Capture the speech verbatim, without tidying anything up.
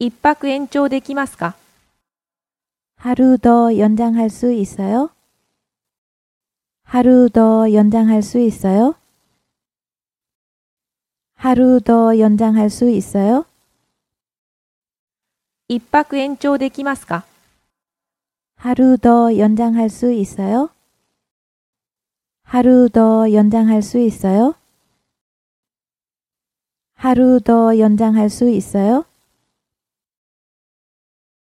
一泊延長できますか？ 하루 더 연장할 수 있어요? 하루 더 연장할 수 있어요? 하루 더 연장할 수 있어요? 一泊延長できますか？ 하루 더 연장할 수 있어요? 하루 더 연장할 수 있어요? 하루 더 연장할 수 있어요?